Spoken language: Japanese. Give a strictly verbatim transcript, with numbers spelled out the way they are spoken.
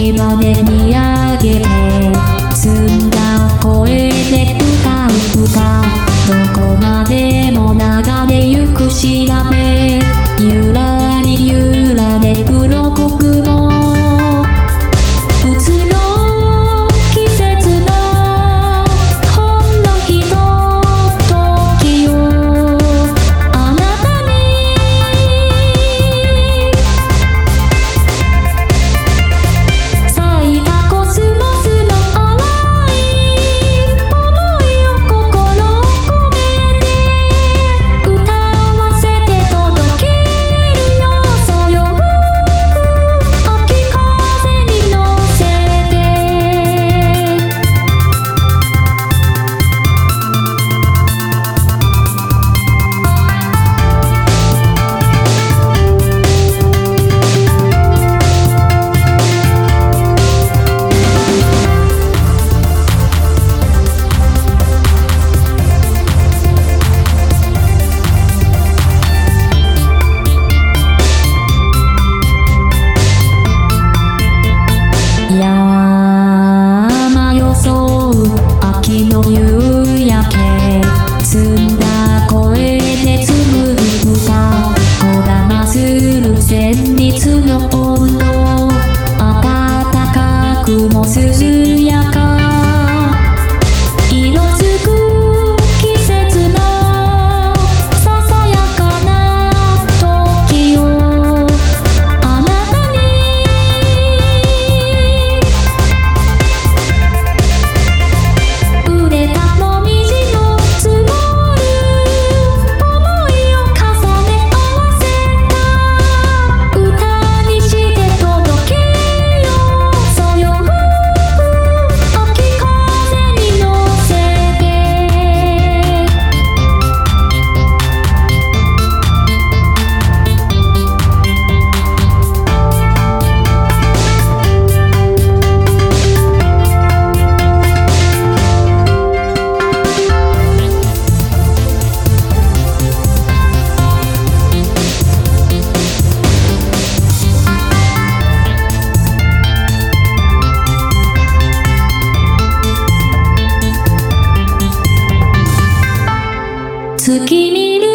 月まで見上げて澄んだ声で歌う歌、どこまでも流れゆく調べ、ゆらりゆらで黒黒の移ろう季節のほんのひとときをあなたに咲いたコスモスの淡い想いを心込めて歌わせて届けるよ、そよ秋風に乗せて。山装う秋の夕焼け、澄んだ声で紡ぐ歌、こだまする旋律の温度、暖かくも涼やか、色づく季節のささやかな時をあなたに腕たもみじの積もる想いを重ね合わせた歌にして届けよう、そよ秋風に乗せて。月見